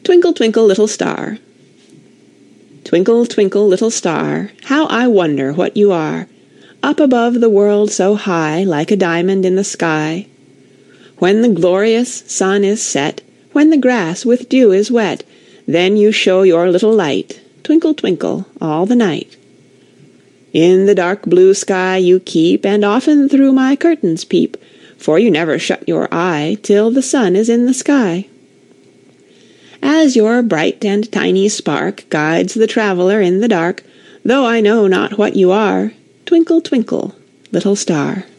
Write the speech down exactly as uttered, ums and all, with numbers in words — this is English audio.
Twinkle, twinkle, little star. Twinkle, twinkle, little star, how I wonder what you are, up above the world so high, like a diamond in the sky. When the glorious sun is set, when the grass with dew is wet, then you show your little light, twinkle, twinkle, all the night. In the dark blue sky you keep, and often through my curtains peep, for you never shut your eye till the sun is in the sky. As your bright and tiny spark guides the traveller in the dark, though I know not what you are, twinkle, twinkle, little star.